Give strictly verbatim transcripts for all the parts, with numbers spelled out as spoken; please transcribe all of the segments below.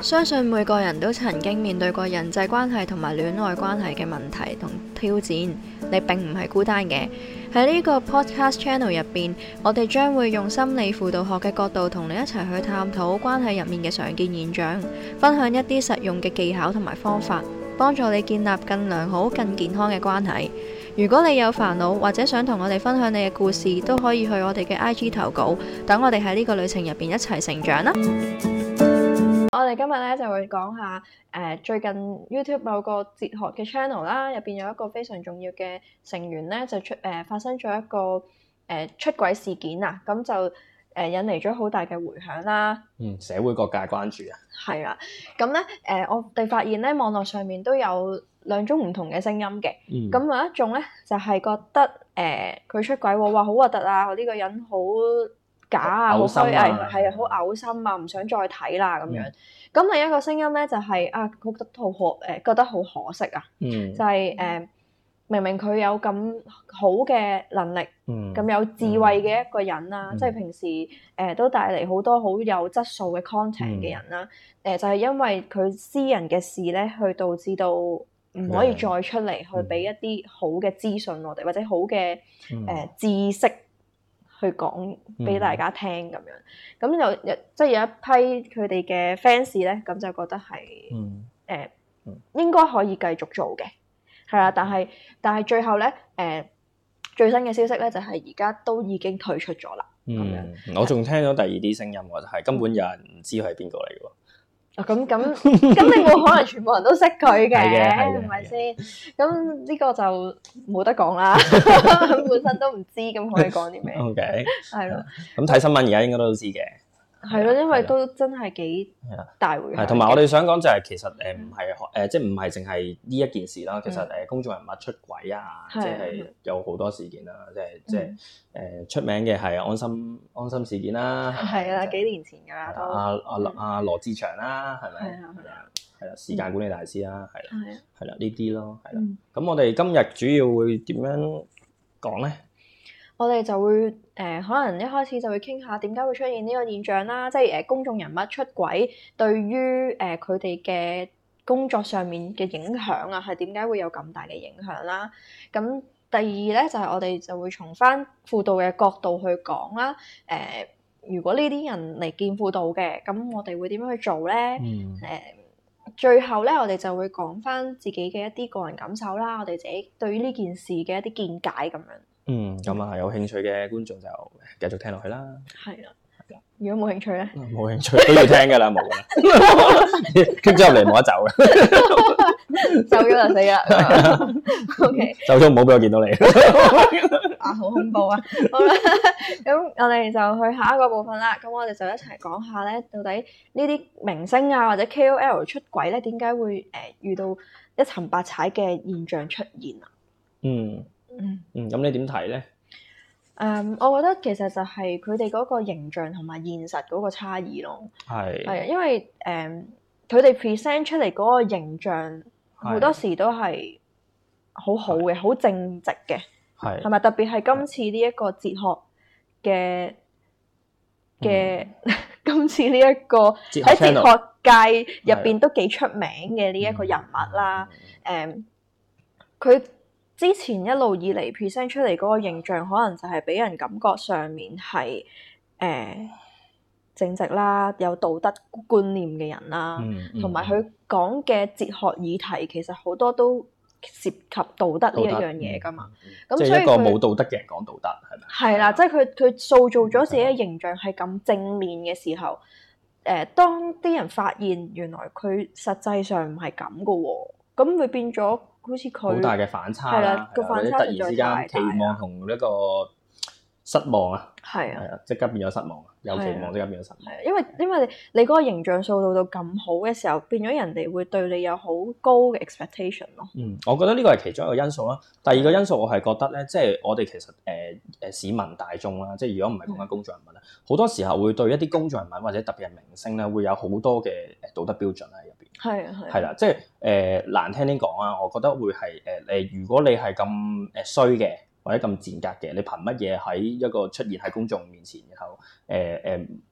相信每個人都曾經面對過人際關係同埋戀愛關係嘅問題同挑戰，你並唔係孤單嘅。喺呢個 podcast channel 入邊，我哋將會用心理輔導學嘅角度同你一齊去探討關係入面嘅常見現象，分享一啲實用嘅技巧同埋方法，幫助你建立更良好、更健康嘅關係。如果你有煩惱或者想同我哋分享你嘅故事，都可以去我哋嘅 I G 投稿，等我哋喺呢個旅程入邊一齊成長啦。我哋今日咧就會講下誒、呃、最近 YouTube 某個哲學嘅 channel 啦，入邊有一個非常重要嘅成員咧就出誒、呃、發生咗一個誒、呃、出軌事件啊，咁就誒、呃、引嚟咗好大嘅迴響啦。 嗯，社會各界關注啊。係啊，咁咧誒我哋發現咧網絡上面都有兩種唔同嘅聲音嘅。咁、嗯、有一種咧就係、是、覺得誒佢、呃、出軌喎，哇好核突啊！呢、這個人好假啊，好虛偽，係啊，好嘔心啊，唔想再睇啦咁樣。咁、嗯、另一個聲音咧就係、是、啊，覺得好可誒，覺得好可惜啊。嗯、就係、是、誒、呃，明明佢有咁好嘅能力，咁、嗯、有智慧嘅一個人啦，嗯、即係平時誒、呃、都帶嚟好多好有質素嘅 content 嘅人啦。誒、嗯呃、就係、是、因為佢私人嘅事咧，去導致到唔可以再出嚟、嗯、去俾一啲好嘅資訊我哋，或者好嘅誒、呃、知識。去講俾大家聽咁樣，咁有有即係有一批佢哋嘅 fans 咧，咁就覺得係誒、嗯呃嗯、應該可以繼續做嘅，係啦，但係但係最後咧誒、呃、最新嘅消息咧就係而家都已經退出咗啦。咁樣、 嗯，我仲聽到第二啲聲音喎，就係根本有人唔知佢係邊個嚟嘅喎。 啊咁咁咁你冇可能全部人都識佢嘅，係咪先？咁呢個就冇得講啦，本身都唔知，咁可以講啲咩 ？OK， 係咯。 咁睇新聞而家應該都知嘅。 係咯，因為都真係幾大迴響。 係，同埋我哋想講就係其實誒唔係誒，即係唔係淨係呢一件事啦。其實誒公眾人物出軌啊，即係有好多事件啦，即係即係誒出名嘅係安心安心事件啦。 係啊，幾年前㗎啦都。 阿阿阿羅志祥啦，係咪？係啊係啊，係啦，時間管理大師啦，係啦，係啦呢啲咯，係啦。咁我哋今日主要會點樣講咧？ 我哋就會誒、呃，可能一開始就會傾下點解會出現呢個現象啦，即係誒公眾人物出軌對於誒佢哋嘅工作上面嘅影響啊，係點解會有咁大嘅影響啦？咁第二咧就係、是、我哋就會從翻輔導嘅角度去講啦。誒、呃，如果呢啲人嚟見輔導嘅，咁我哋會點樣去做咧？誒、嗯呃，最後咧我哋就會講翻自己嘅一啲個人感受啦，我哋自己對於呢件事嘅一啲見解咁樣。 嗯，咁啊，有興趣嘅觀眾就繼續聽落去啦。 係啦，如果冇興趣咧， 冇興趣都要聽噶啦，冇噶啦，傾咗入嚟冇得走嘅， 走咗就死啦。O K， 走咗唔好俾我見到你。 啊，好恐怖啊！好啦，咁我哋就去下一個部分啦。咁我哋就一齊講下咧，到底呢啲明星啊或者 K O L 出軌咧，點解會誒、呃、遇到一沉百踩嘅現象出現啊？ 嗯。嗯嗯，咁你點睇咧？ 誒，um, 我覺得其實就係佢哋嗰個形象同埋現實嗰個差異咯。係係啊，因為誒佢哋 present 出嚟嗰個形象好多時都係好好嘅，好正直嘅。係係咪？特別係今次呢一個哲學嘅嘅，今次呢一個喺哲學界入邊都幾出名嘅呢一個人物啦。誒，佢之前一路以嚟 present 出嚟嗰個形象，可能就係俾人感覺上面係誒、呃、正直啦，有道德觀念嘅人啦，同埋佢講嘅哲學議題其實好多都涉及道德呢一樣嘢㗎嘛。咁所以即係一個冇道德嘅人講道德係咪？ 係啦，即係佢佢塑造咗自己嘅形象係咁正面嘅時候，誒、呃、當啲人發現原來佢實際上唔係咁㗎喎，咁會變咗。好似佢好大嘅反差啦，或者突然之間期望同一個失望啊，係啊，即刻變咗失望，有期望即刻變咗失望。 係因為因為你嗰個形象塑造到咁好嘅時候，變咗人哋會對你有好高嘅 expectation 咯。 嗯，我覺得呢個係其中一個因素啦。第二個因素我係覺得咧，即係我哋其實誒誒、呃、市民大眾啦，即係如果唔係講緊公眾人物咧，好、嗯、多時候會對一啲公眾人物或者特別係明星咧，會有好多嘅道德標準喺入邊。係啊係。係啦，即係誒、呃、難聽啲講啊，我覺得會係誒誒，如果你係咁誒衰嘅。或者咁賤格嘅，你憑乜嘢喺一個出現喺公眾面前，然後誒誒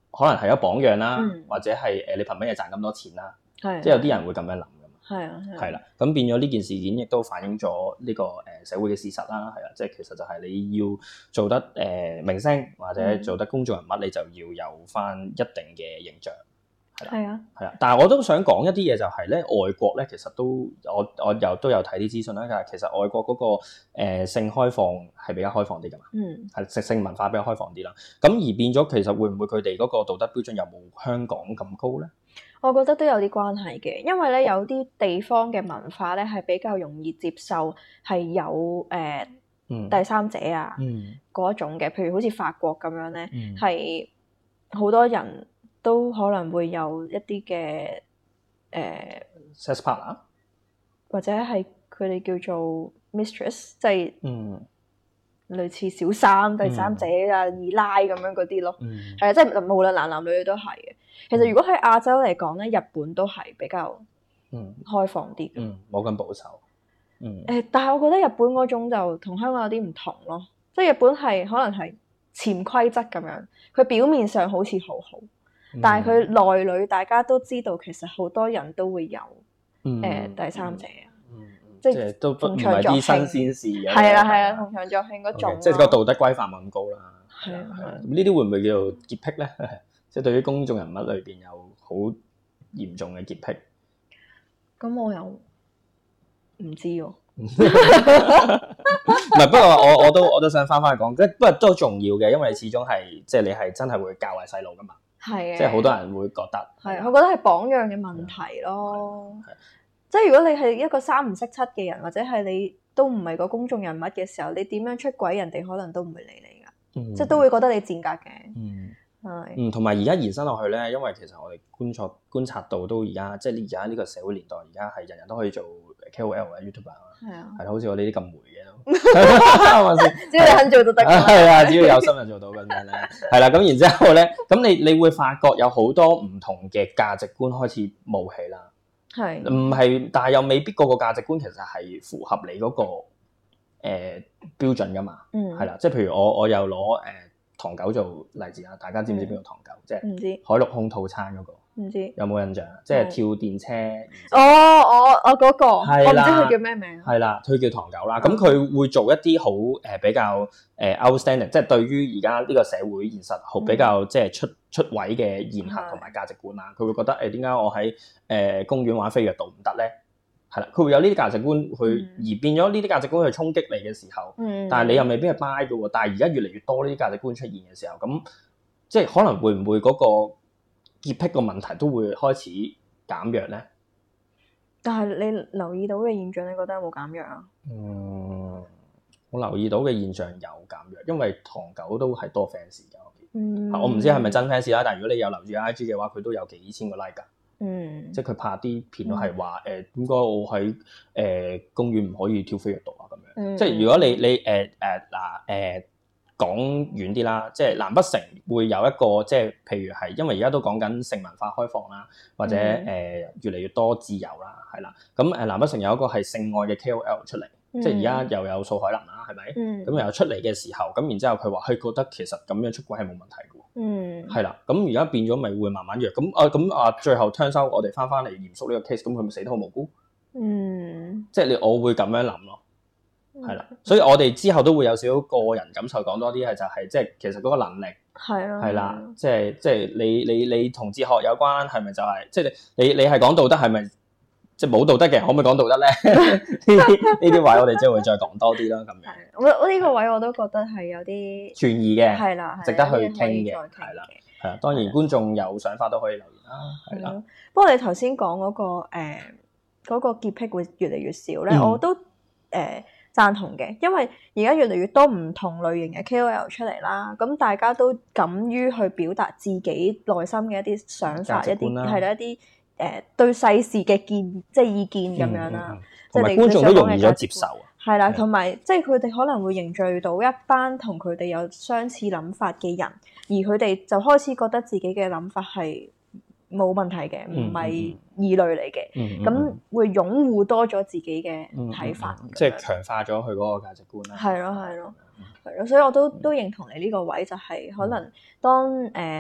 可能係一個榜樣啦， 嗯、 或者係誒你憑乜嘢賺咁多錢啦， 係即係有啲人會咁樣諗㗎嘛。 係啊， 係啦，咁變咗呢件事件亦都反映咗呢個誒社會嘅事實啦，係啊，即係其實就係你要做得誒明星或者做得公眾人物，嗯、你就要有返一定嘅形象。係啊，係啊，但係我都想講一啲嘢就係咧，外國咧其實都我我又都有睇啲資訊啦，但係其實外國嗰、嗰個、呃、性開放係比較開放啲㗎嘛， 嗯， 係性性文化比較開放啲啦。咁而變咗其實會唔會佢哋嗰個道德標準有冇香港咁高咧？ 我覺得都有啲關係嘅，因為咧有啲地方嘅文化咧係比較容易接受係有誒、呃嗯、第三者啊嗰、嗯、種嘅，譬如好似法國咁樣咧，係好、嗯、多人都可能會有一啲嘅誒 sex partner， 或者係佢哋叫做 mistress， 即係嗯類似小三、第三者啊、二奶咁樣嗰啲咯，係啊、嗯，即係無論男男女女都係嘅。其實如果喺亞洲嚟講咧，日本都係比較開放啲嘅， 嗯，冇咁保守。嗯， 誒，但係我覺得日本嗰種就同香港有啲唔同咯，即係日本係可能係潛規則咁樣，佢表面上好似好好，嗯、但係佢內裏大家都知道，其實好多人都會有誒、嗯呃、第三者啊， 嗯嗯、即係都唔係啲新鮮事嘅， 係啦係啦，同場作興嗰種，okay, 即係個道德規範冇咁高啦。 係啊係啊， 呢啲會唔會叫做潔癖咧？即係對於公眾人物裏邊有好嚴重嘅潔癖， 咁我又唔知喎。 唔係，不過我我都我都想翻返去講，不過都重要嘅，因為始終係即係你係真係會教壞細路噶嘛。係嘅，即係好多人會覺得係，我覺得係榜樣嘅問題咯。即係如果你係一個三唔識七嘅人，或者係你都唔係個公眾人物嘅時候，你點樣出軌，人哋可能都唔會理你噶，嗯、即係都會覺得你賤格嘅。嗯。 嗯，同埋而家延伸落去咧，因為其實我哋觀察觀察到都而家，即係而家呢個社會年代，而家係人人都可以做 K O L 啊、YouTuber 啊，係啊，係咯，好似我哋啲咁霉嘅都，係咪先？ 只要你肯做就得。 係啊，只要有心就做到咁樣咧。係啦，咁然之後咧，咁你你會發覺有好多唔同嘅價值觀開始冒起啦。係的，唔係，但係又未必個個價值觀其實係符合你嗰、那個誒、呃、標準噶嘛。嗯，係啦，即係譬如我我又攞誒。呃唐狗做例子啊，大家知唔知邊個唐狗？嗯、即係唔知海陸空套餐嗰、嗰個，唔知有冇印象？即係跳電車。 哦，我我嗰個，我唔知佢叫咩名。 係啦，佢叫唐狗啦。咁佢、嗯、會做一啲好誒比較誒 outstanding，即係對於而家呢個社會現實好比較即係出出位嘅言行同埋價值觀啦。佢、嗯、會覺得誒點解我喺誒、呃、公園玩飛躍道唔得咧？係啦，佢會有呢啲價值觀去，嗯、而變咗呢啲價值觀去衝擊你嘅時候，嗯、但係你又未必係 buy 嘅喎。但係而家越嚟越多呢啲價值觀出現嘅時候，咁即係可能會唔會嗰個潔癖個問題都會開始減弱咧？ 但係你留意到嘅現象，你覺得有冇減弱啊？ 嗯，我留意到嘅現象有減弱，因為唐狗都係多 fans 嘅。嗯，我唔知係咪真 fans 啦，但係如果你有留意 I G 嘅話，佢都有幾千個 like 㗎。嗯，即係佢拍啲片都係話誒點解我喺誒、呃、公園唔可以跳飛躍道啊咁樣，嗯、即係如果你你誒誒嗱誒講遠啲啦，即係難不成會有一個即係譬如係因為而家都講緊性文化開放啦，或者誒、嗯呃、越嚟越多自由啦，係啦，咁誒難不成有一個係性愛嘅 K O L 出嚟，嗯、即係而家又有素海霖啦，係咪？咁、嗯、又出嚟嘅時候，咁然之後佢話佢覺得其實咁樣出軌係冇問題嘅。嗯，係啦，咁而家變咗咪會慢慢弱，咁啊咁啊最後聽收我哋翻翻嚟嚴肅呢個 case，咁佢咪死得好無辜？嗯，即係你我會咁樣諗咯，係啦，所以我哋之後都會有少少個人感受講多啲係就係即係其實嗰個能力係啦，係啦，即係即係你你你同哲學有關係咪就係即係你你係講道德係咪即係冇道德嘅可唔可以講道德咧？呢啲呢啲位我哋即係會再講多啲啦，咁樣。 我我呢個位我都覺得係有啲存疑嘅， 係啦， 值得去傾嘅，係啦，係啊。當然觀眾有想法都可以留言啦，係啦。 不過你頭先講嗰個誒嗰個潔癖會越嚟越少咧，我都誒贊同嘅，因為而家越嚟越多唔同類型嘅 K O L 出嚟啦，咁大家都敢於去表達自己內心嘅一啲想法，一啲係啦，一啲誒對世事嘅見即係意見咁樣啦， 同埋觀眾都容易咗接受。 係啦，同埋即係佢哋可能會凝聚到一班同佢哋有相似諗法嘅人，而佢哋就開始覺得自己嘅諗法係冇問題嘅，唔係異類嚟嘅，咁、嗯嗯、會擁護多咗自己嘅睇法， 嗯嗯嗯、即係強化咗佢嗰個價值觀啦。 係咯係咯係咯，所以我都都認同你呢個位，就係可能當誒、呃、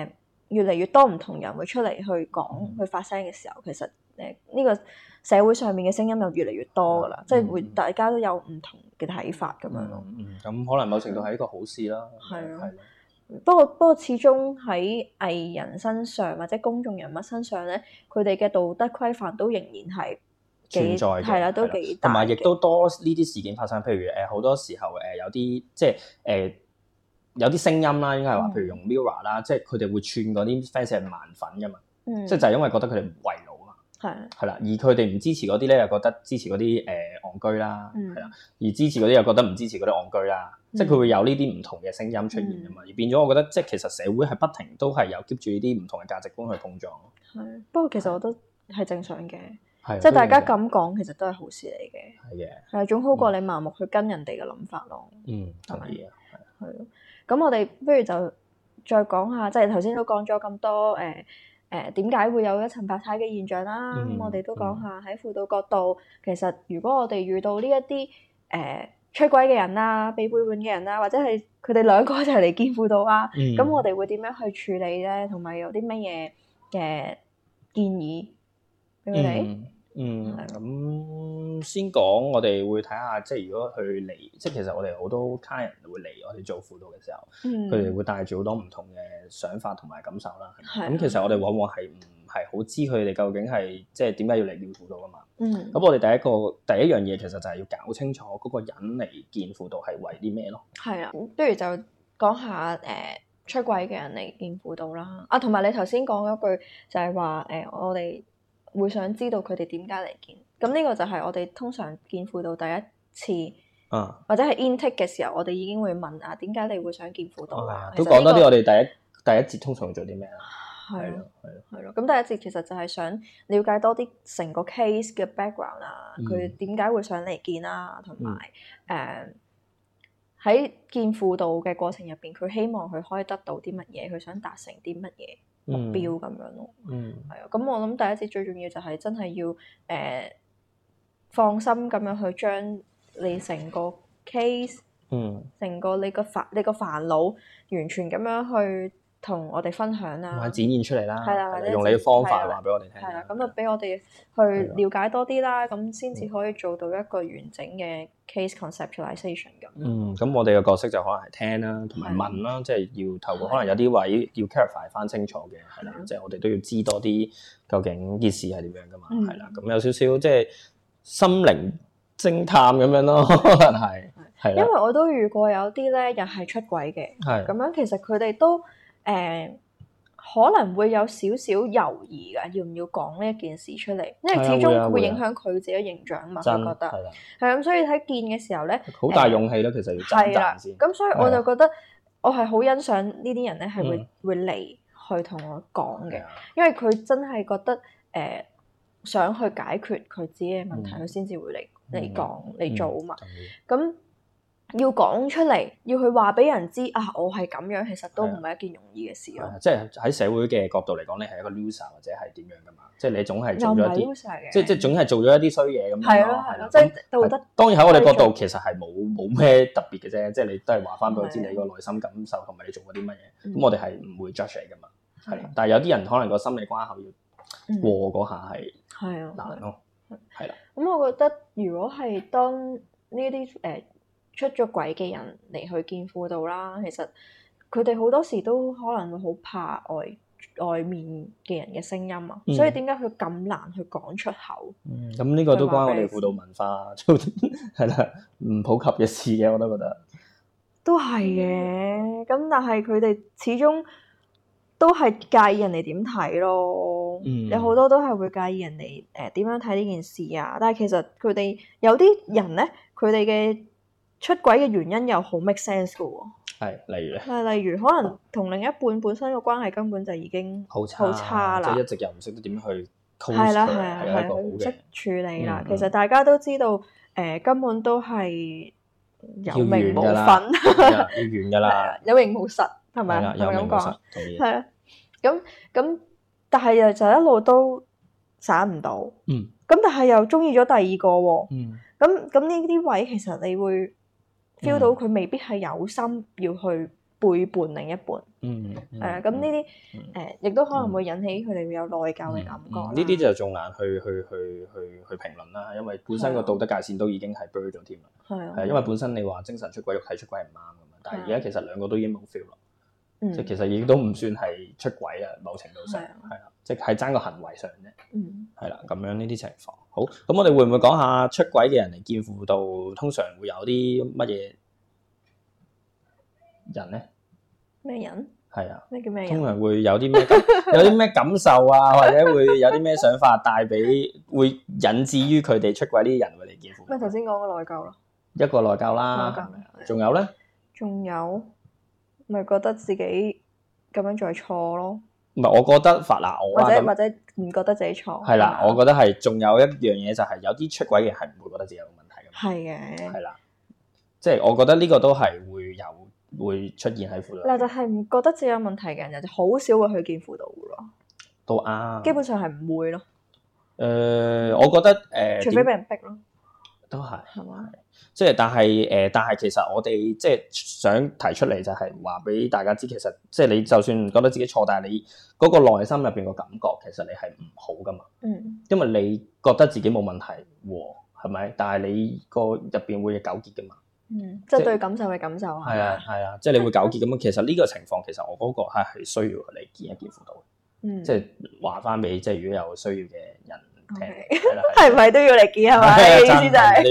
越嚟越多唔同人會出嚟去講去發聲嘅時候，其實誒呢個社會上面嘅聲音就越嚟越多噶啦，嗯、即係會大家都有唔同嘅睇法咁樣咯。 嗯，咁、嗯、可能某程度係一個好事啦。 係啊，不過不過始終喺藝人身上或者公眾人物身上咧，佢哋嘅道德規範都仍然係存在嘅， 係啦，都幾大， 同埋亦都多呢啲事件發生。譬如誒好、呃、多時候誒、呃、有啲即係誒、呃、有啲聲音啦，應該係話，譬如用 Mirror 啦，即係佢哋會串嗰啲 fans 係盲粉噶嘛，嗯、即係就係因為覺得佢哋唔為勞啊嘛，係係啦，而佢哋唔支持嗰啲咧，又覺得支持嗰啲誒戇居啦，係啦、嗯，而支持嗰啲又覺得唔支持嗰啲戇居啦，嗯、即係佢會有呢啲唔同嘅聲音出現啊嘛，嗯、而變咗我覺得即係其實社會係不停都係有 keep 住呢啲唔同嘅價值觀去碰撞。係， 不過其實我覺得係正常嘅。即係大家咁講，其實都係好事嚟嘅。係嘅的，係總好過你盲目去跟人哋嘅諗法咯。嗯，同意啊，係。係咯，咁我哋不如就再講下，即係頭先都講咗咁多誒誒點解會有一層白太嘅現象啦。咁、嗯、我哋都講下喺輔導角度，其實如果我哋遇到呢一啲誒出軌嘅人啦、被背叛嘅人啦，或者係佢哋兩個一齊嚟見輔導啊，咁、嗯、我哋會點樣去處理咧？同埋有啲乜嘢嘅建議俾佢哋？嗯嗯，咁先講，我哋會睇下，即係如果佢嚟，即係其實我哋好多客人會嚟我哋做輔導嘅時候，佢哋、嗯、會帶住好多唔同嘅想法同埋感受啦。咁的其實我哋往往係唔係好知佢哋究竟係即係點解要嚟見輔導㗎嘛？咁、嗯、我哋第一個第一樣嘢其實就係要搞清楚嗰個人嚟見輔導係為啲咩咯。係啊， 不如就講下誒、呃、出軌嘅人嚟見輔導啦。啊，同埋你頭先講嗰句就係話誒我哋會想知道佢哋點解嚟見，咁呢個就係我哋通常見輔導第一次，啊、或者係 intake 嘅時候，我哋已經會問啊，點解你會想見輔導啊？ 都講多啲，我哋第一第一節通常做啲咩啊？ 係咯，係咯，係咯。咁第一節其實就係想了解多啲成個 case 嘅 background 啊，佢點解會想嚟見啊，同埋誒喺見輔導嘅過程入邊，佢希望佢可以得到啲乜嘢，佢想達成啲乜嘢目標咁樣咯，嗯，係啊，咁我諗第一節最重要就係真係要誒、呃、放心咁樣去將你成個 case，嗯，成個你個煩你個煩惱完全咁樣去同我哋分享啦， 展現出嚟啦， 係啦， 用你嘅方法話俾我哋聽， 係啦，咁就俾我哋去了解多啲啦，咁先至可以做到一個完整嘅 case conceptualization 咁。 嗯，咁我哋嘅角色就可能係聽啦，同埋問啦，即係要透過可能有啲位要 clarify 翻清楚嘅，係啦，即係我哋都要知多啲究竟件事係點樣噶嘛，係啦，咁有少少即係心靈偵探咁樣咯，可能係，係因為我都遇過有啲咧又係出軌嘅，係咁樣，其實佢哋都。誒、呃、可能會有少少猶豫㗎，要唔要講呢一件事出嚟？因為始終會影響佢自己形象嘛，佢覺得係咁，所以喺見嘅時候咧， 好大勇氣咯，呃、其實要掙扎先。 咁所以我就覺得我係好欣賞呢啲人咧，係會、嗯、會嚟去同我講嘅，因為佢真係覺得誒、呃、想去解決佢自己嘅問題，佢先至會嚟嚟講嚟做啊嘛。咁、嗯嗯要講出嚟，要去話俾人知啊！我係咁樣，其實都唔係一件容易嘅事咯。 即係喺社會嘅角度嚟講，你係一個 loser 或者係點樣噶嘛？即係你總係做咗一啲，即係即係總係做咗一啲衰嘢咁樣咯。係咯係咯，即係道德。當然喺我哋角度，其實係冇冇咩特別嘅啫。即係你都係話翻俾我知你個內心感受同埋你做過啲乜嘢。咁我哋係唔會 judge 你噶嘛。係，但係有啲人可能個心理關口要過嗰下係係啊難咯。係啦。 咁我覺得如果係當呢啲誒出咗軌嘅人嚟去見輔導啦，其實佢哋好多時都可能會好怕外外面嘅人嘅聲音啊，嗯、所以點解佢咁難去講出口？ 咁呢、嗯、個都關我哋輔導文化係啦，唔普及嘅事嘅，我都覺得都係嘅。咁但係佢哋始終都係介意人哋點睇咯，嗯、有好多都係會介意人哋誒點樣睇呢件事啊。但係其實佢哋有啲人咧，佢哋嘅出軌嘅原因又好 make sense 嘅喎， 係例如咧， 係例如可能同另一半本身嘅關係根本就已經好差，差啦， 即係一直又唔識得點樣去溝通， 係啦係啊係佢唔識處理啦。嗯、其實大家都知道，誒、呃、根本都係有名無分， 要完㗎啦， 有名無實係咪啊？係咪咁講？係啊，咁咁，但係又就一路都散唔到，嗯，咁但係又中意咗第二個喎，嗯，咁咁呢啲位其實你會 feel 到佢未必係有心要去背叛另一半。 嗯， 係啊，咁呢啲誒亦都可能會引起佢哋會有內疚嘅感覺。 呢啲就仲難去去去去去評論啦，因為本身個道德界線都已經係 blur 咗添啦。係啊，係因為本身你話精神出軌、肉體出軌係唔啱㗎嘛，但係而家其實兩個都已經冇 feel 咯。即係其實已經都唔算係出軌啊，某程度上係啦，即係爭個行為上啫。嗯，係啦，咁樣呢啲情況。好，咁我哋會唔會講下出軌嘅人嚟見輔導，通常會有啲乜嘢人咧？ 咩人？ 係啊， 咩叫咩人？ 通常會有啲咩有啲咩感受啊，或者會有啲咩想法帶俾，會引致於佢哋出軌呢啲人會嚟見輔導。 咩頭先講個內疚咯？ 一個內疚啦，仲有咧？仲有。咪覺得自己咁樣做係錯咯， 唔係我覺得法嗱我或者或者唔覺得自己錯係啦，我覺得係仲有一樣嘢就係有啲出軌嘅係唔會覺得自己有問題嘅， 係嘅， 係啦，即係我覺得呢個都係會有會出現喺輔導。 嗱，就係唔覺得自己有問題嘅人就好少會去見輔導嘅咯， 都啱，基本上係唔會咯。 誒、呃，我覺得誒，呃、 除非俾人逼咯， 都係係嘛？ 即係，但係誒、呃，但係其實我哋即係想提出嚟就係話俾大家知，其實即係你就算唔覺得自己錯，但係你嗰個內心入邊個感覺，其實你係唔好噶嘛。嗯。因為你覺得自己冇問題喎，係咪？但係你個入邊會糾結噶嘛。嗯。即係對感受嘅感受係。係啊係啊，即係你會糾結咁樣。其實呢個情況，其實我嗰個係係需要你見一見輔導嘅。嗯。即係話翻俾即係如果有需要嘅人。係咪都要嚟見係咪？意思就係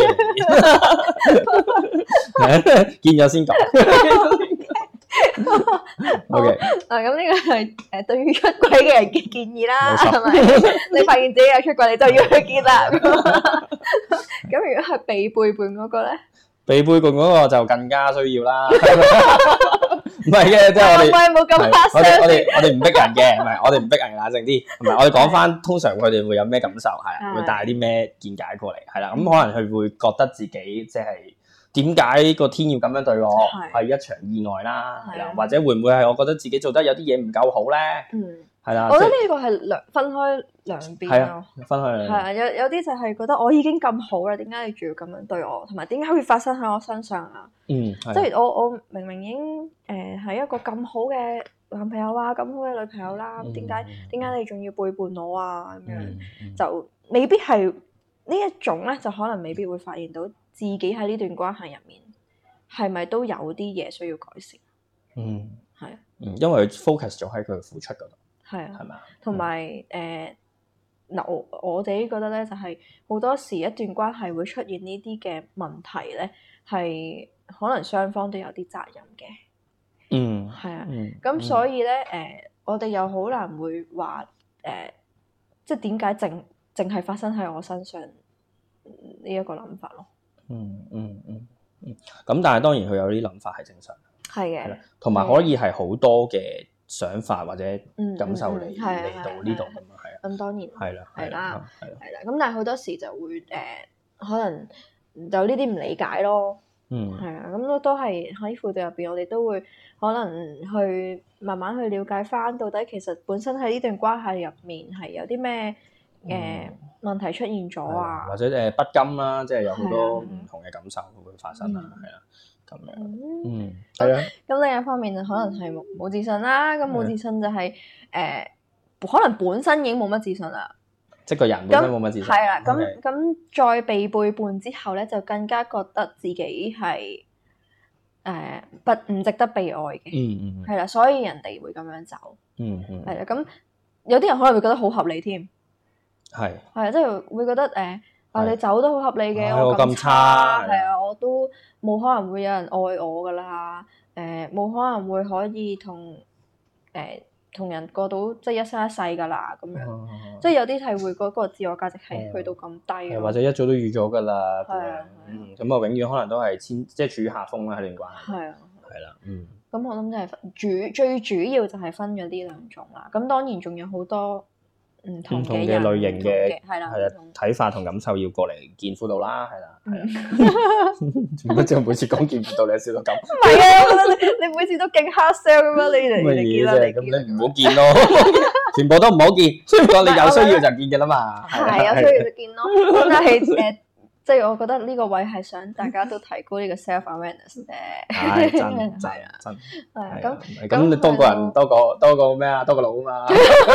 見咗先講。O K， 啊咁呢個係誒對於出軌嘅人嘅建議啦，係咪？你發現自己有出軌，你就要去見啦。咁如果係被背叛嗰個咧？ 被背叛嗰個就更加需要啦。唔係嘅，即係我哋， 冇咁我哋我哋我哋唔逼人嘅，唔係我哋唔逼人，冷靜啲。唔係我哋講翻，通常佢哋會有咩感受，係啊，會帶啲咩見解過嚟，係啦。咁可能佢會覺得自己即係點解個天要咁樣對我，係一場意外啦，係啦，或者會唔會係我覺得自己做得有啲嘢唔夠好咧？嗯。係啦， 我覺得呢個係兩分開兩邊咯， 分開兩邊。係啊， 有有啲就係覺得我已經咁好啦，點解你仲要咁樣對我？同埋點解會發生喺我身上啊？嗯，即係我我明明已經誒係一個咁好嘅男朋友啊，咁好嘅女朋友啦，點解點解你仲要背叛我啊？咁樣、嗯嗯、就未必係呢一種咧，就可能未必會發現到自己喺呢段關係入面係咪都有啲嘢需要改善。嗯，係啊， 嗯，因為 focus 咗喺佢付出嗰度。 係啊，係咪啊？同埋誒嗱，我我自己覺得咧，就係、是、好多時一段關係會出現呢啲嘅問題咧，係可能雙方都有啲責任嘅。嗯，係啊。咁、嗯、所以咧，誒、呃，我哋又好難會話誒、呃，即係點解淨淨係發生喺我身上呢一個諗法咯。 嗯嗯嗯嗯。咁但係當然佢有啲諗法係正常。 係嘅。 同埋可以係好多嘅想法或者感受嚟嚟、嗯嗯、到呢度咁啊，係啊， 咁當然係啦， 係啦，係啦，咁但係好多時就會誒、呃，可能就呢啲唔理解咯，嗯，係啊，咁都都係喺輔導入邊，我哋都會可能去慢慢去了解翻，到底其實本身喺呢段關係入面係有啲咩誒問題出現咗啊， 或者誒不甘啦，即係有好多唔同嘅感受會發生啊，係啊。咁樣，嗯，係啊。 咁另一方面就可能係冇冇自信啦。咁冇自信就係、是、誒、呃，可能本身已經冇乜自信啦。 即係個人本身冇乜自信。 係啦，咁咁再被背叛之後咧，就更加覺得自己係誒、呃、不唔值得被愛嘅。嗯嗯。係啦，所以人哋會咁樣走。嗯嗯。係啦，咁有啲人可能會覺得好合理添。係。係啊，即係會覺得誒。呃啊！你走都好合理嘅，我咁差，係啊，我都冇可能會有人愛我噶啦，誒、呃，冇可能會可以同誒同人過到即係一生一世噶啦，咁樣，嗯、即係有啲係會嗰個自我價值係去到咁低、 嗯，或者一早都預咗噶啦，咁樣，嗯，咁啊，永遠可能都係千即係處於下風啦，喺段關係，係啊，係啦，嗯， 咁我諗就係主最主要就係分咗呢兩種啦，咁當然仲有好多。唔同嘅類型嘅係啦，係啦，睇法同感受要過嚟見輔導啦，係啦，係啦。做乜啫？每次講見輔導，你笑到咁？唔係啊，我覺得你你每次都勁 hard sell 咁樣，你嚟嚟見啦， 咁你唔好見咯，全部都唔好見。所以講你有需要就見嘅啦嘛。 係有需要就見咯。咁但係誒， 即係我覺得呢個位係想大家都提高呢個 self awareness 啫。 係真真真係咁咁你多個人多個多個咩啊？多個腦啊嘛。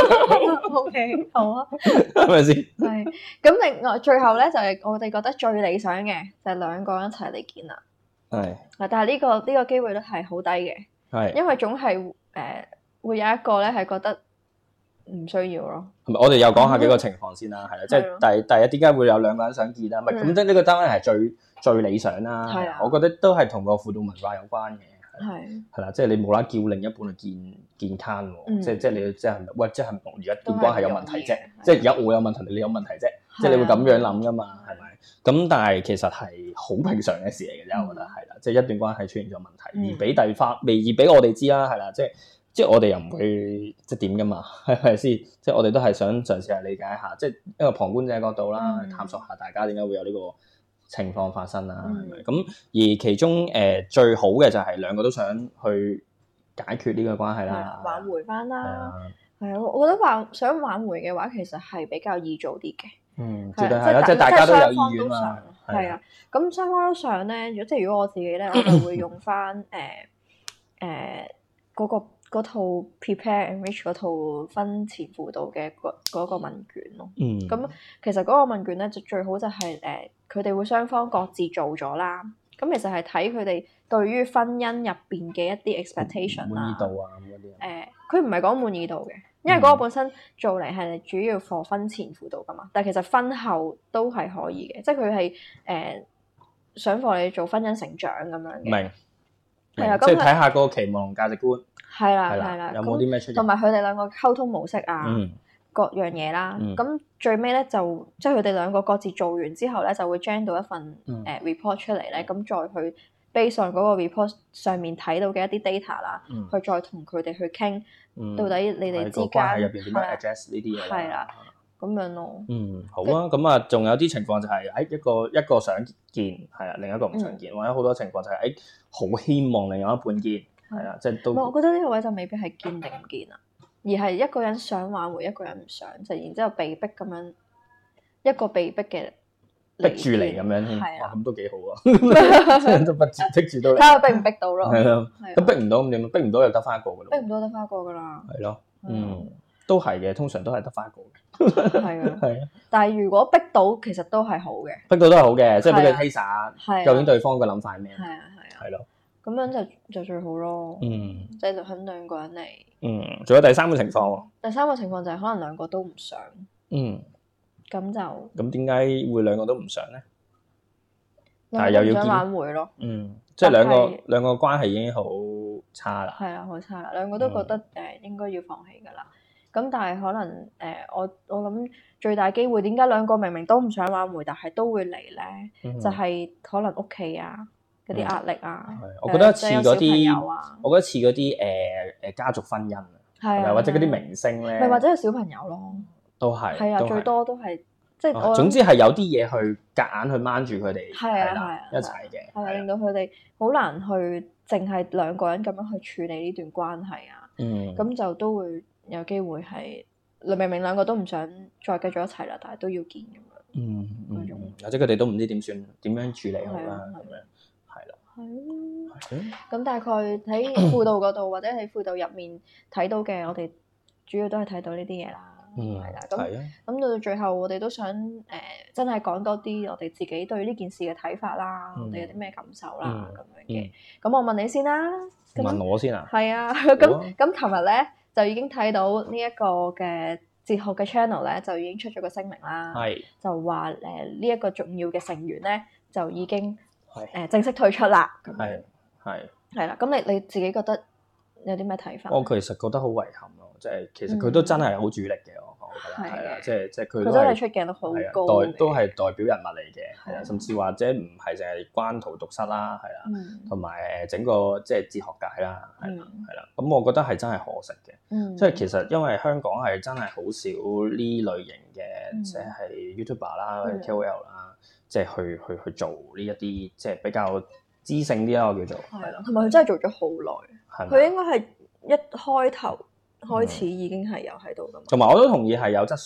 O K 好啊， 係咪先？ 係咁，另外最後咧就係我哋覺得最理想嘅就係兩個人一齊嚟見啦。 係。 但係呢個呢個機會率係好低嘅。係。因為總係誒會有一個咧係覺得唔需要咯。 係咪？我哋又講下幾個情況先啦，係啦，即係第第一點解會有兩個人想見啦？唔係咁即係呢個單位係最最理想啦。係啊。我覺得都係同個輔導文化有關嘅。係。係啦，即係你冇啦叫另一半去見見 can 喎，即係即係你即係喂，即係而家段關係有問題啫，即係而家我有問題，你有問題啫，即係你會咁樣諗噶嘛，係咪？咁但係其實係好平常嘅事嚟嘅啫，我覺得係啦，即係一段關係出現咗問題，而俾第花未而俾我哋知啦，係啦，即係即係我哋又唔會即係點噶嘛，係咪先？即係我哋都係想嘗試下理解下，即係一個旁觀者角度啦，探索下大家點解會有呢個情況發生啦，係咪？咁而其中誒最好嘅就係兩個都想去解決呢個關係啦， 挽回翻啦，係啊，我覺得話想挽回嘅話，其實係比較易做啲嘅。嗯，絕對係啦，即係大家都有意願嘛。係啊，咁雙方都想咧，如果即係如果我自己咧，我就會用翻誒誒嗰個嗰套 Prepare Enrich 嗰套婚前輔導嘅嗰嗰個問卷咯。嗯，咁其實嗰個問卷咧就最好就係誒佢哋會雙方各自做咗啦。咁其實係睇佢哋對於婚姻入邊嘅一啲 expectation 滿意度啊咁嗰啲。 誒，佢唔係講滿意度嘅，因為嗰個本身做嚟係主要 for 婚前輔導噶嘛，但係其實婚後都係可以嘅，即係佢係誒想 for 你做婚姻成長咁樣嘅。明，係啊，即係睇下嗰個期望同價值觀。 係啦，係啦， 有冇啲咩出現？ 同埋佢哋兩個溝通模式啊，各樣嘢啦。咁最尾咧就即係佢哋兩個各自做完之後咧，就會 generate 到一份誒 report 出嚟咧，咁再去 base on 嗰個 report 上面睇到嘅一啲 data 啦，去再同佢哋去傾，到底你哋之間入邊點樣 address 呢啲嘢啦。 係啦，咁樣咯。 嗯，好啊。咁啊，仲有啲情況就係誒一個一個想見，係啊，另一個唔想見，或者好多情況就係誒好希望另外一半見。係啊，即係都。 我覺得呢個位就未必係見定唔見啊，而係一個人想挽回，一個人唔想，就然之後被逼咁樣一個被逼嘅逼住嚟咁樣添，哇咁都幾好啊！都不住逼住都嚟， 睇下逼唔逼到咯。 係咯，咁逼唔到咁點？逼唔到又得翻一個噶咯。 逼唔到得翻一個噶啦。 係咯，嗯，都係嘅，通常都係得翻一個嘅。係啊，係啊。 但係如果逼到，其實都係好嘅。 逼到都係好嘅，即係俾佢 taste 下，究竟對方嘅諗法係咩？ 係啊，係啊。 係咯。 咁樣就就最好咯，嗯，即係就肯兩個人嚟， 嗯，仲有第三個情況喎， 第三個情況就係可能兩個都唔想，嗯，咁就咁點解會兩個都唔想咧？ 但係又要挽回咯， 嗯，即係兩個兩個關係已經好差啦， 係啊，好差啦，兩個都覺得誒應該要放棄噶啦，咁但係可能誒我我諗最大機會點解兩個明明都唔想挽回，但係都會嚟咧，就係可能屋企啊。嗰啲壓力啊， 我覺得似嗰啲，我覺得似嗰啲誒誒家族婚姻啊，或者嗰啲明星咧， 咪或者有小朋友咯， 都係， 係啊，最多都係即係我總之係有啲嘢去夾硬去掹住佢哋，係啦，一齊嘅， 係啊，令到佢哋好難去淨係兩個人咁樣去處理呢段關係啊，嗯，咁就都會有機會係明明兩個都唔想再繼續一齊啦，但係都要見咁樣，嗯嗯，或者佢哋都唔知點算點樣處理好啦咁樣。 係咯，咁大概喺輔導嗰度或者喺輔導入面睇到嘅，我哋主要都係睇到呢啲嘢啦，係啦，咁咁到到最後，我哋都想誒真係講多啲我哋自己對呢件事嘅睇法啦，我哋有啲咩感受啦咁樣嘅。咁我問你先啦， 問我先啊？ 係啊，咁咁琴日咧就已經睇到呢一個嘅哲學嘅 channel 咧，就已經出咗個聲明啦，就話誒呢一個重要嘅成員咧就已經。誒正式退出啦，咁係係係啦。咁你你自己覺得有啲咩睇法？ 我其實覺得好遺憾咯，即係其實佢都真係好主力嘅，我我覺得係啦，即係即係佢都係出鏡都好高， 代都係代表人物嚟嘅，係啊，甚至或者唔係淨係關荼毒室啦，係啦，同埋誒整個即係哲學界啦，係啦，係啦。咁我覺得係真係可惜嘅，即係其實因為香港係真係好少呢類型嘅，即係 YouTuber 啦、K O L 啦。即係去去去做呢一啲即係比較知性啲啦，我叫做係啦， 同埋佢真係做咗好耐，佢應該係一開頭開始已經係有喺度㗎嘛。 同埋我都同意係有質素嘅，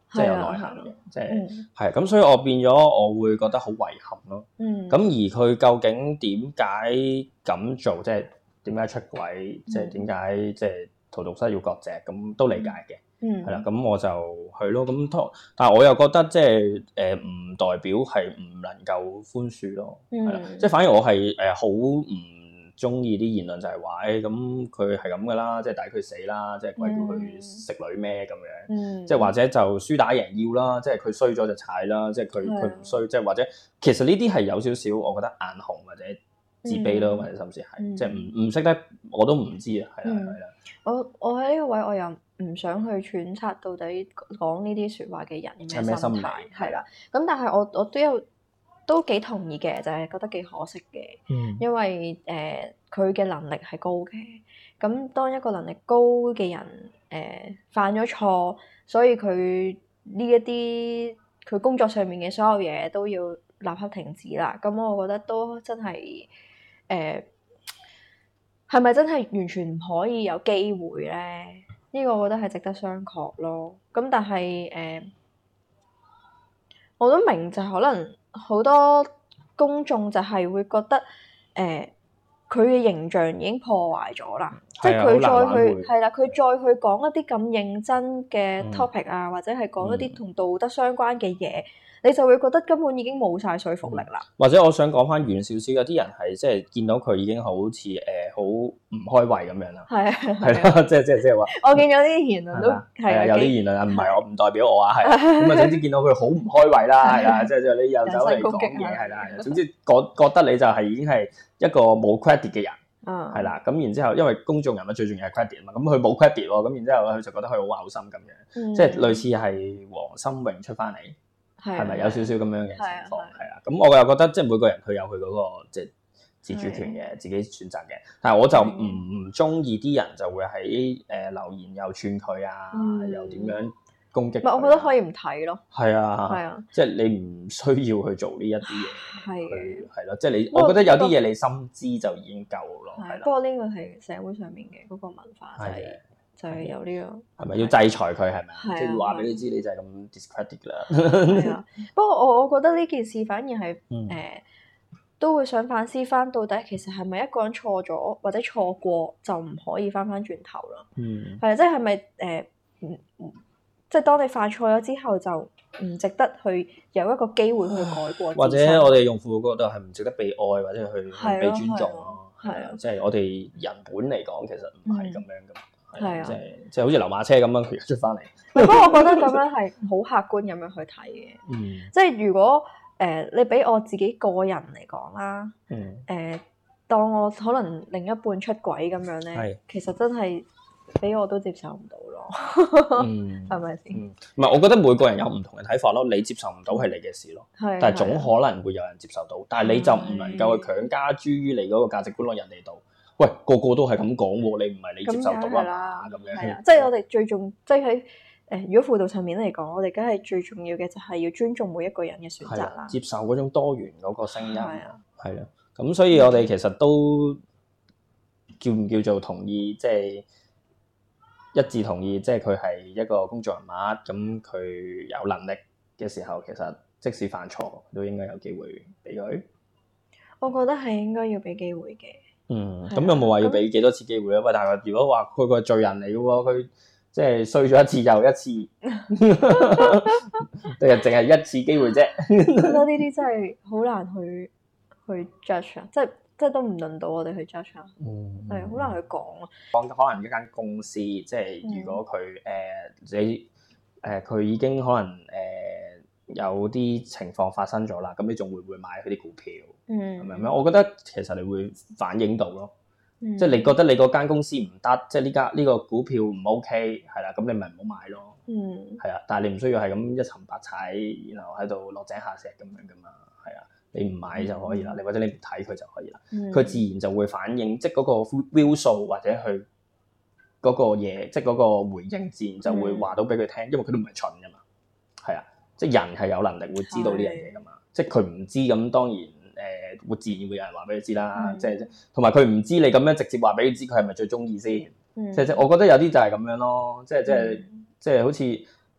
即係有內涵嘅，即係係嗯咁，所以我變咗我會覺得好遺憾咯。 嗯， 咁而佢究竟點解咁做，即係點解出軌，即係點解即係荼毒室要割席，咁都理解嘅。 嗯， 係啦，咁我就係咯，咁但係我又覺得即係誒唔代表係唔能夠寬恕咯，係啦、嗯，即係反而我係誒好唔中意啲言論就係話誒咁佢係咁噶啦，即係抵佢死啦，即係鬼叫佢食女咩咁樣， 嗯、 即係或者就輸打贏要啦，即係佢衰咗就踩啦，即係佢佢唔衰，即係或者其實呢啲係有少少我覺得眼紅或者自卑咯，或者甚至係、嗯、即係唔唔識得我都唔知啊，係啦係啦。 我我喺呢個位我又唔想去揣測到底講呢啲説話嘅人有咩心態，係啦。咁但係我我都有都幾同意嘅，就係、是、覺得幾可惜嘅，嗯、因為誒佢嘅能力係高嘅。咁當一個能力高嘅人誒、呃、犯咗錯，所以佢呢一啲佢工作上面嘅所有嘢都要立刻停止啦。咁我覺得都真係誒係咪真係完全唔可以有機會咧？呢個我覺得係值得商榷咯。咁但係誒、呃，我都明就係可能好多公眾就係會覺得誒，佢、呃、嘅形象已經破壞咗啦。即係佢再去係啦，佢再去講一啲咁認真嘅 topic 啊，嗯、或者係講一啲同道德相關嘅嘢。你就會覺得根本已經冇晒說服力啦、嗯。 或者我想講翻遠少少，有啲人係即係見到佢已經好似誒好唔開胃咁樣啦。係啊，係啦，即係即係即係話。我見咗啲言論都係啊，有啲言論啊，唔係我唔代表我啊，係咁啊，總之見到佢好唔開胃啦，係啦，即係即係你又走嚟講嘢，係啦，係啦，總之覺覺得你就係已經係一個冇 credit 嘅人，係啦、嗯，咁然之後因為公眾人物最重要係 credit 啊嘛，咁佢冇 credit 喎，咁然之後佢就覺得佢好嘔心咁樣，嗯、即係類似係黃心穎出翻嚟。係咪有少少咁樣嘅情況？係啊，咁我又覺得即係每個人佢有佢嗰個即係自主權嘅，自己選擇嘅。但係我就唔唔中意啲人就會喺誒留言又串佢啊，又點樣攻擊？唔係， 我覺得可以唔睇咯。 係啊，係啊，即係你唔需要去做呢一啲嘢。係係咯，即係你，我覺得有啲嘢你心知就已經夠咯。係啦。 不過呢個係社會上面嘅嗰個文化就係。就係有呢、這個， 係咪要制裁佢？係咪啊？即係話俾你知，你就係咁 discredit 啦。 係啊，不過我我覺得呢件事反而係誒、嗯呃、都會想反思翻，到底其實係咪一個人錯咗或者錯過就唔可以翻翻轉頭咯？嗯，係啊，即係係咪誒？即係當你犯錯咗之後，就唔值得去有一個機會去改過。 或者我哋用戶嗰度係唔值得被愛，或者去被尊重咯。係啊，即係我哋人本嚟講，其實唔係咁樣噶。係啊，即係即係好似流馬車咁樣，佢又出翻嚟。 不過我覺得咁樣係好客觀咁樣去睇嘅。嗯，即係如果誒、呃、你俾我自己個人嚟講啦，嗯，誒、呃、當我可能另一半出軌咁樣咧，係其實真係俾我都接受唔到咯。嗯，係咪先？ 唔係，我覺得每個人有唔同嘅睇法咯。你接受唔到係你嘅事咯，係，但係總可能會有人接受到。但係你就唔能夠去強加諸於你嗰個價值觀落人哋度。喂，個個都係咁講喎，你唔係你接受到啦，咁樣。係啊， 即係我哋最重，即係喺誒，如果輔導層面嚟講，我哋梗係最重要嘅就係要尊重每一個人嘅選擇啦， 接受嗰種多元嗰個聲音。係啊，係啦，咁所以我哋其實都叫唔叫做同意，即係一致同意，即係佢係一個公眾人物，咁佢有能力嘅時候，其實即使犯錯都應該有機會俾佢。 我覺得係應該要俾機會嘅。 嗯，咁有冇話要俾幾多次機會咧？喂，但係如果話佢個罪人嚟嘅喎，佢即係衰咗一次又一次，定係淨係一次機會啫？ 我覺得呢啲真係好難去去 judge 啊，即係即係都唔輪到我哋去 judge 啊，係好難去講啊。 講可能一間公司，即係如果佢誒、呃、你誒佢、呃、已經可能誒。呃有啲情況發生咗啦，咁你仲會唔會買佢啲股票？嗯，係咪咁？我覺得其實你會反映到咯，嗯、即係你覺得你嗰間公司唔得，即係呢間呢個股票唔 OK，係啦，咁你咪唔好買咯。嗯，係啊，但係你唔需要係咁一沉百踩，然後喺度落井下石咁樣噶嘛。係啊，你唔買就可以啦，你、嗯、或者你唔睇佢就可以啦。佢、嗯、自然就會反映，即係嗰個 view 數或者佢嗰個嘢，即係嗰個回應自然就會話到俾佢聽，因為佢都唔係蠢噶嘛。係啊。即係人係有能力會知道呢樣嘢㗎嘛，是的 即係佢唔知咁當然誒、呃、會自然會有人話俾佢知啦，即係同埋佢唔知你咁樣直接話俾佢知佢係咪最中意先，即係即係我覺得有啲就係咁樣咯，即係即係即係好似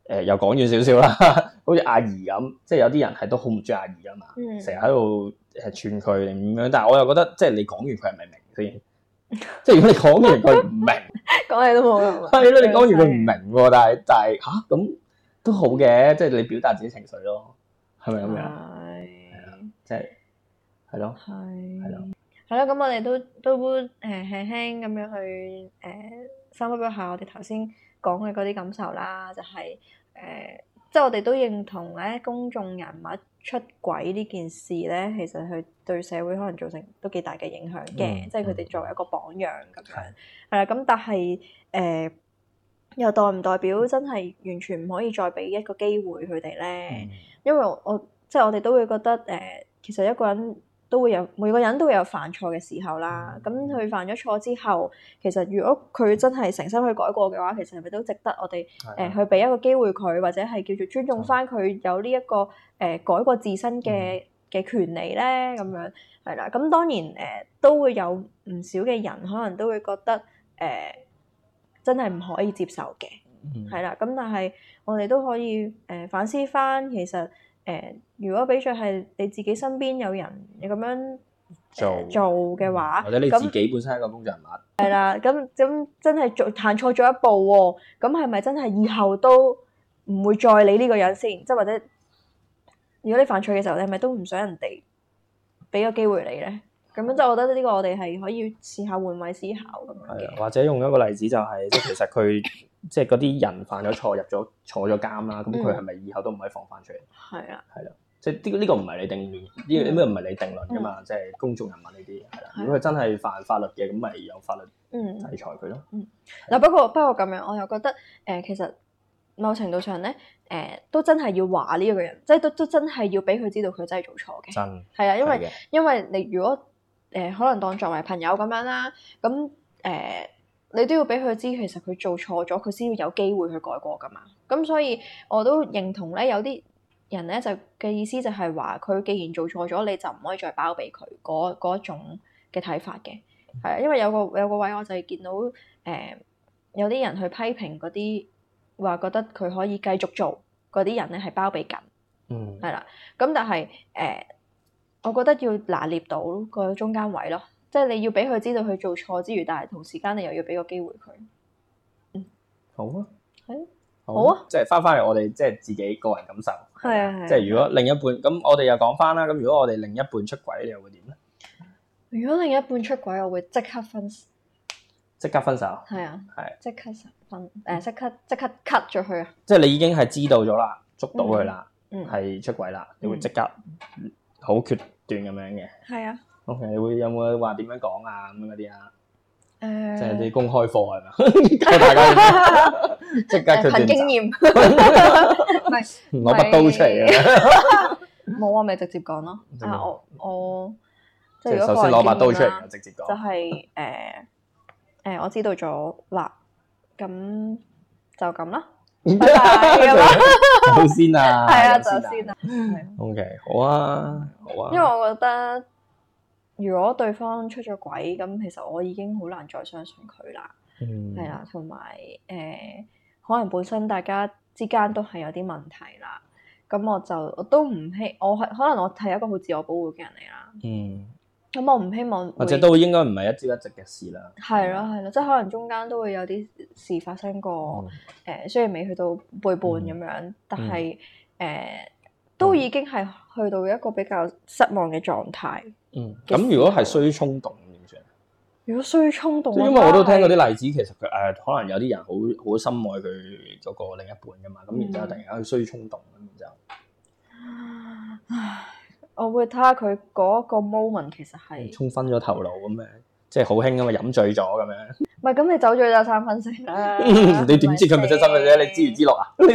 誒又講遠少少啦，好似阿儀咁，即係有啲人係都好唔中意阿儀噶嘛，成日喺度誒串佢定咁樣，但係我又覺得即係你講完佢係咪明先？即係如果你講完佢唔明， 講你都冇用。 係咯，你講完佢唔明喎，但係但係嚇咁都好嘅，即係你表達自己情緒咯，係咪咁樣？係，即係係咯，係係咯， 係咯。咁我哋都都誒輕輕咁樣去誒深呼吸下我哋頭先講嘅嗰啲感受啦，就係、是、誒、呃，即係我哋都認同咧，公眾人物出軌呢件事咧，其實佢對社會可能造成都幾大嘅影響嘅，嗯、即係佢哋作為一個榜樣咁樣。係啦、嗯，咁但係誒、呃，又代唔代表真係完全唔可以再俾一個機會佢哋咧？嗯、因為我，我即係我哋都會覺得誒、呃，其實一個人都會有每個人都會有犯錯嘅時候啦。咁佢、嗯、犯咗錯之後，其實如果佢真係誠心去改過嘅話，其實係咪都值得我哋誒、呃、去俾一個機會佢，或者係叫做尊重翻佢有呢、這、一個誒、呃、改過自身嘅嘅權利咧？咁樣係啦。咁當然誒、呃、都會有唔少嘅人可能都會覺得誒、呃、真係唔可以接受嘅，係啦、嗯。咁但係我哋都可以誒、呃、反思翻，其實。誒、呃，如果比著係你自己身邊有人你咁樣做、呃、做嘅話， 或者你自己本身係一個公眾人物， 係啦，咁咁真係做行錯咗一步喎，咁係咪真係以後都唔會再理呢個人先？即係或者如果你犯錯嘅時候，你係咪都唔想人哋俾個機會你咧？咁樣即係我覺得呢個我哋係可以試下換位思考咁樣嘅。 或者用一個例子就係、是，即係其實佢即係嗰啲人犯咗錯入咗坐咗監啦，咁佢係咪以後都唔可以放翻出嚟？係啊，係啦，即係呢個呢個唔係你定論，呢個咩唔係你定論噶嘛？即係、嗯、公眾人物呢啲係啦。如果佢真係犯法律嘅，咁咪有法律制裁佢咯。嗯， 嗱不過不過咁樣，我又覺得誒、呃，其實某程度上咧，誒、呃、都真係要話呢一個人，即係都都真係要俾佢知道佢真係做錯嘅。真係啊，因為因為你如果誒、呃、可能當作為朋友咁樣啦，咁誒、呃、你都要俾佢知，其實佢做錯咗，佢先要有機會去改過噶嘛。咁所以我都認同咧，有啲人咧就嘅意思就係話，佢既然做錯咗，你就唔可以再包庇佢嗰嗰種嘅睇法嘅。係啊，因為有個有個位我就係見到誒、呃、有啲人去批評嗰啲話覺得佢可以繼續做嗰啲人咧係包庇緊，嗯，係啦。咁但係誒。呃我覺得要拿捏到個中間位咯，即係你要俾佢知道佢做錯之餘，但係同時間你又要俾個機會佢。嗯， 好啊， 係， 好， 好啊， 即係翻翻嚟我哋即係自己個人感受。 係啊係。 即係如果另一半咁，我哋又講翻啦。咁如果我哋另一半出軌，你又會點咧？ 如果另一半出軌，我會即刻分， 即刻分手。係啊， 係即刻分誒，即刻即刻 cut 咗佢啊！ 即係你已經係知道咗啦，捉到佢啦，係出軌啦，你會即刻好決斷咁樣嘅。係啊。OK，你會有冇話點樣講啊？咁樣嗰啲啊？誒，即係啲公開課係咪？教大家即刻決斷。憑經驗。唔係攞把刀出嚟嘅。 冇啊，咪直接講咯。啊，我我即係首先攞把刀出嚟，直接講。 就係誒誒，我知道咗啦，咁就咁啦。拜拜。 好先啊。 係啊，就先啊。 OK，好啊，好啊。 因為我覺得，如果對方出咗軌，咁其實我已經好難再相信佢啦。嗯。係啦，同埋誒，可能本身大家之間都係有啲問題啦。咁我就我都唔希，我係可能我係一個好自我保護嘅人嚟啦。嗯。咁我唔希望， 或者都應該唔係一朝一夕嘅事啦。 係咯係咯，即係可能中間都會有啲事發生過。誒、嗯呃，雖然未去到背叛咁樣，嗯、但係誒、呃、都已經係去到一個比較失望嘅狀態。嗯。 咁如果係衰衝動點算？ 如果衰衝動， 因為我都聽過啲例子，其實佢誒、呃、可能有啲人好好深愛佢嗰個另一半噶嘛，咁、嗯、然之後突然間去衰衝動咁，然之後。唉。 我會睇下佢嗰個 moment 其實係沖昏咗頭腦咁樣，即係好興咁嘛，飲醉咗咁樣。 唔係，咁你酒醉就三分醒啦。 你點知佢咪真三分醒？你知唔知落啊？你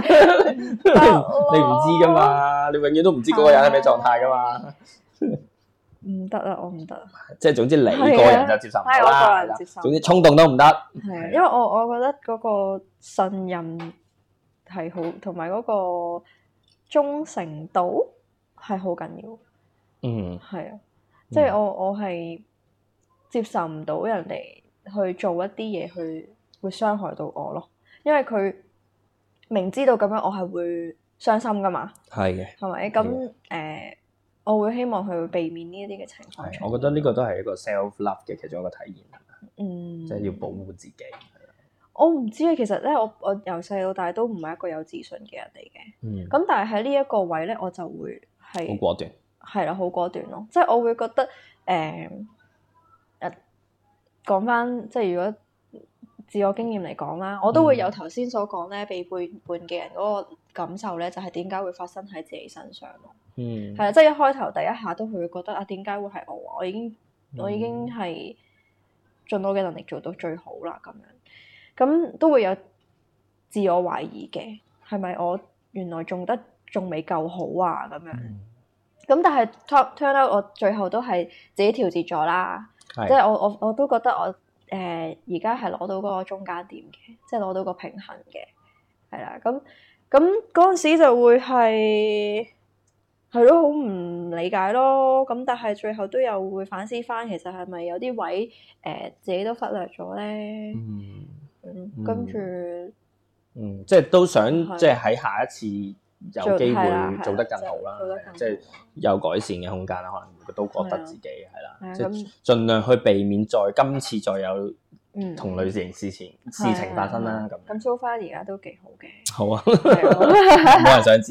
唔知噶嘛？你永遠都唔知嗰個人係咩狀態噶嘛？ 唔得啦，我唔得。 即係總之你個人就接受唔到啦。 我個人接受。 總之衝動都唔得。 係啊，因為我我覺得嗰個信任係好，同埋嗰個忠誠度。係好緊要，嗯，係啊，即係我我係接受唔到人哋去做一啲嘢去會傷害到我咯，因為佢明知道咁樣我係會傷心噶嘛， 係嘅， 係咪？咁誒，我會希望佢會避免呢一啲嘅情況。 係，我覺得呢個都係一個 self love 嘅其中一個體現， 嗯， 即係要保護自己。 我唔知啊，其實咧，我我由細到大都唔係一個有自信嘅人嚟嘅。嗯。咁但係喺呢一個位咧，我就會係好果斷。 係啦，好果斷咯。即係我會覺得誒誒講翻，即係如果自我經驗嚟講啦，我都會有頭先所講咧，被背叛嘅人嗰個感受咧，就係點解會發生喺自己身上咯。嗯。係啊，即係一開頭第一下都會覺得啊，點解會係我啊？我已經我已經係盡我嘅能力做到最好啦，咁樣。咁都會有自我懷疑嘅，係咪我原來做得仲未夠好啊？咁樣，咁、嗯、但係 turn out 我最後都係自己調節咗啦，即係我我我都覺得我誒而家係攞到嗰個中間點嘅，即係攞到個平衡嘅，係啦。咁咁嗰陣時就會係係咯，好唔理解咯。咁但係最後都有會反思翻，其實係咪有啲位誒、呃、自己都忽略咗咧？嗯。嗯，跟住， 嗯，即係都想，即係喺下一次有機會做得更好啦，即係有改善嘅空間啦。可能都覺得自己係啦，即係盡量去避免再今次再有同類型事情事情發生啦。咁咁 so far 而家都幾好嘅。 好啊，冇人想知。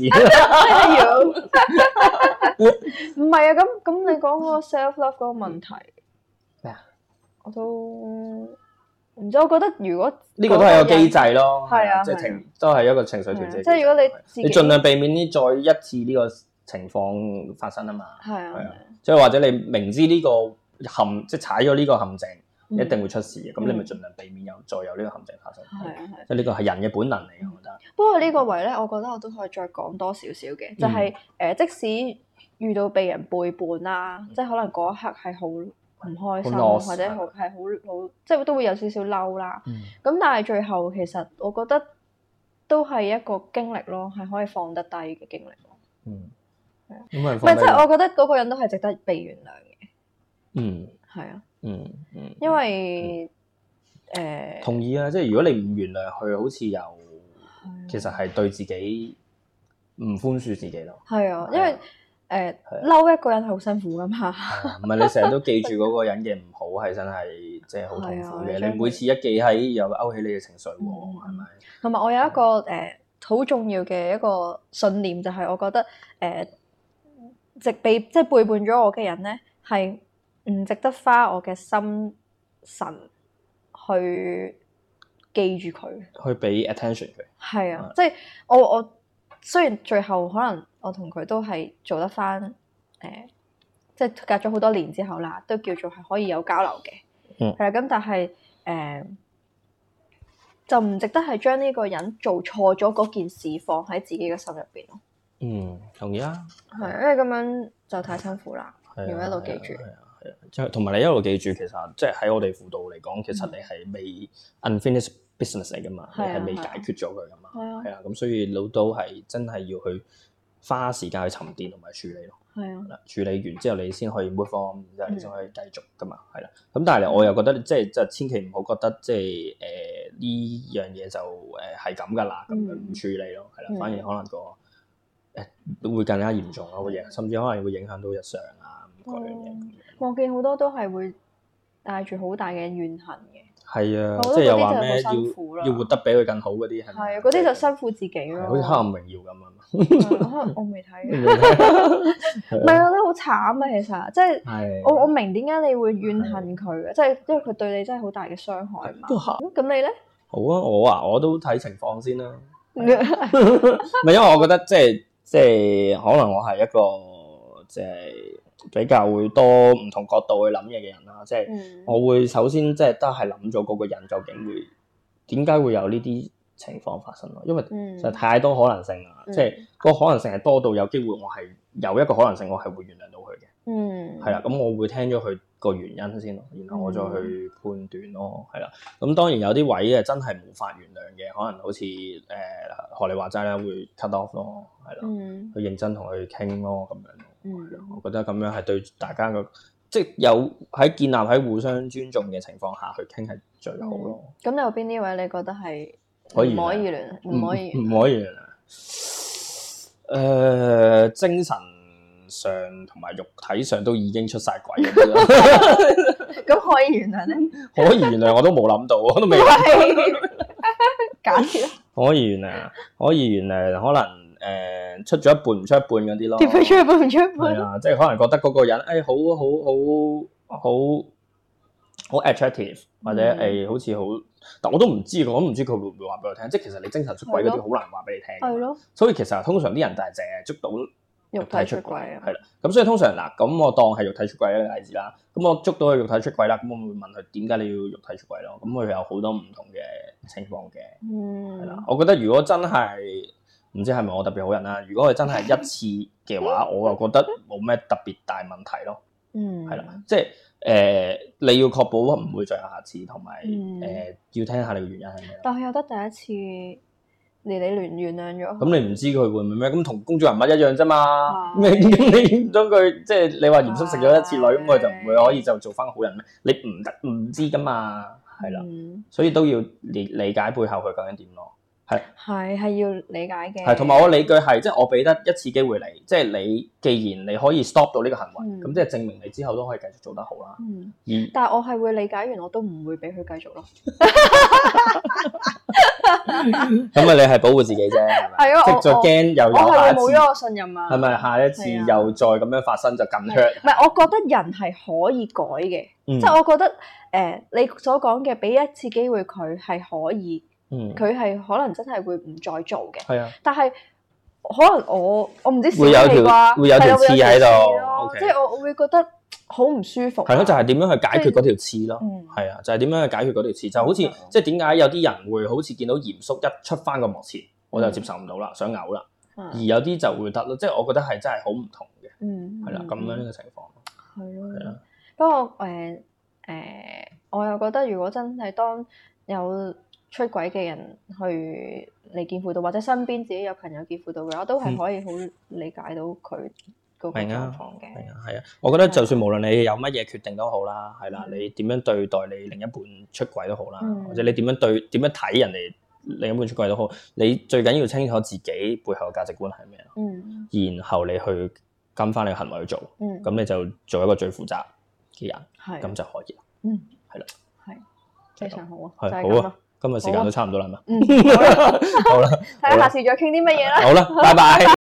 唔係啊，咁咁你講嗰個 self love 嗰個問題咩啊？ 我都。唔知，我覺得如果呢個都係個機制咯， 係啊， 即係情都係一個情緒調節。 即係如果你自己你盡量避免呢再一次呢個情況發生啊嘛。 係啊，係啊。 即係或者你明知呢個陷，即係踩咗呢個陷阱，一定會出事嘅，咁你咪盡量避免有再有呢個陷阱發生。係啊，係。即係呢個係人嘅本能嚟嘅，我覺得。不過呢個位咧，我覺得我都可以再講多少少嘅，就係誒，即使遇到被人背叛啦，即係可能嗰一刻係好唔開心，或者好係好好，即係都會有少少嬲啦。咁、嗯、但係最後其實我覺得都係一個經歷咯，係可以放得低嘅經歷咯。嗯，係啊。唔係即係我覺得嗰個人都係值得被原諒嘅。嗯，係啊。嗯嗯。因為誒、嗯呃、 同意啊，即係如果你唔原諒佢，好似又其實係對自己唔寬恕自己咯。 係啊，因為。誒嬲、呃、一個人係好辛苦噶嘛， 唔係你成日都記住嗰個人嘅唔好，係真係即係好痛苦嘅。你每次一記喺又勾起你嘅情緒喎，係咪、嗯？ 同埋我有一個誒好、呃、重要嘅一個信念，就係、是、我覺得誒直、呃、被即係背叛咗我嘅人咧，係唔值得花我嘅心神去記住佢， 去俾 attention 佢。 係啊，即係我我雖然最後可能。我同佢都係做得翻，誒、呃，即係隔咗好多年之後啦，都叫做係可以有交流嘅，係啦、嗯。咁但係誒、呃，就唔值得係將呢個人做錯咗嗰件事放喺自己嘅心入邊咯。 嗯，同意啊。 係，因為咁樣就太辛苦啦，要一路記住。 係啊，係啊，即係同埋你一路記住，其實即係喺我哋輔導嚟講，其實你係未 unfinished business 嚟噶嘛，嗯、你係未解決咗佢噶嘛。係啊。係啊，咁所以老都係真係要去。花時間去沉澱同埋處理咯，係啊，處理完之後你先可以 move on，之後你先可以繼續噶嘛，係啦。咁但係我又覺得即係即係千祈唔好覺得即係誒呢樣嘢就誒係咁噶啦，咁樣唔處理咯，係啦，嗯、反而可能個誒、呃、會更加嚴重咯，會影甚至可能會影響到日常啊咁嗰樣嘢。嗯、 我見好多都係會帶住好大嘅怨恨嘅。 係啊，即係又話咩要要活得比佢更好嗰啲係咪？ 係啊，嗰啲就辛苦自己咯。 好似黑暗榮耀咁啊！ 可能我未睇，唔係啊，都好慘啊！其實即係我我明點解你會怨恨佢嘅，即係因為佢對你真係好大嘅傷害嘛。咁你咧？ 好啊，我啊我都睇情況先啦。唔係因為我覺得即係即係可能我係一個即係。比較會多唔同角度去諗嘢嘅人啦，即係我會首先即係都係諗咗嗰個人究竟會點解會有呢啲情況發生咯，因為實在太多可能性啦，嗯、即係個可能性係多到有機會我係有一個可能性我係會原諒到佢嘅，嗯，係啦，咁我會聽咗佢個原因先咯，然後我再去判斷咯，係啦，咁當然有啲位嘅真係無法原諒嘅，可能好似誒學你話齋啦，會 cut off 咯，係啦，嗯、去認真同佢傾咯，咁樣。嗯，我覺得咁樣係對大家個即係有喺建立喺互相尊重嘅情況下去傾係最好咯。 咁、嗯、你有邊啲位你覺得係可以唔可以原諒，唔可以唔可以原諒。誒、呃，精神上同埋肉體上都已經出晒軌嗰啲啦。 咁可以原諒咧？ 可以原諒我都冇諗到，我都未諗到。 假設啦， 可以原諒，可以原諒，可能誒、呃、出咗一半唔出一半嗰啲咯。 點解出一半唔出一半？ 係啊，即係可能覺得嗰個人誒、哎、好好好好好 attractive，或者誒、 嗯哎、好似好，但我都唔知，我都唔知佢會唔會話俾我聽。即係其實你精神出軌嗰啲好難話俾你聽。 係咯。 所以其實通常啲人就係淨係捉到肉體出軌啊。 係啦。咁所以通常嗱，咁我當係肉體出軌一個例子啦。咁我捉到佢肉體出軌啦，咁我會問佢點解你要肉體出軌咯？咁佢有好多唔同嘅情況嘅。 嗯。 係啦，我覺得如果真係唔知係咪我特別好人啦，如果佢真係一次嘅話，我又覺得冇咩特別大問題咯。 嗯。 係啦，即係誒、呃，你要確保唔會再有下次，同埋嗯誒要聽下你嘅原因係咩。 但係有得第一次，你你原原諒咗。 咁你唔知佢會唔會咩？咁同公眾人物一樣啫嘛。 係咁你唔將佢即係你話嚴肅食咗一次女，咁佢就唔會可以就做翻好人咩？你唔得唔知噶嘛，係啦， 嗯所以都要理理解背後佢究竟點咯。係係係要理解嘅。 係，同埋我理據係即係我俾得一次機會你，即係你既然你可以 stop 到呢個行為，咁、 嗯、 即係證明你之後都可以繼續做得好啦。 嗯， 而但係我係會理解完，我都唔會俾佢繼續咯。 咁啊，你係保護自己啫，係咪？ 係啊， 即係再驚又有我係下一次， 冇咗個信任啊。 係咪下一次又再咁樣發生就咁 hurt？ 唔係，我覺得人係可以改嘅， 嗯、 即係我覺得誒、呃，你所講嘅俾一次機會佢係可以。 嗯， 佢係可能真係會唔再做嘅， 係啊， 但係可能我我唔知會有條會有條刺喺度， 即係我我會覺得好唔舒服。 係咯，就係點樣去解決嗰條刺咯？ 嗯， 係啊，就係點樣去解決嗰條刺？就好似即係點解有啲人會好似見到嚴肅一出翻個幕前，我就接受唔到啦，想嘔啦，而有啲就會得咯，即係我覺得係真係好唔同嘅， 嗯， 係啦，咁樣呢個情況係咯， 係啊。 不過誒誒，我又覺得如果真係當有出軌嘅人去嚟見輔導，或者身邊自己有朋友見輔導嘅話，都係可以好理解到佢嗰個狀況嘅。係啊，係啊，我覺得就算無論你有乜嘢決定都好啦，係啦，你點樣對待你另一半出軌都好啦，或者你點樣對點樣睇人哋另一半出軌都好，你最緊要清楚自己背後嘅價值觀係咩咯。嗯。然後你去跟翻你嘅行為去做，嗯，咁你就做一個最負責嘅人，係咁就可以啦。嗯，係啦，係非常好啊， 係好啊。今日時間都差唔多啦嘛， 嗯，好啦， 好啦， 睇下下次再傾啲乜嘢啦。 好啦，拜拜。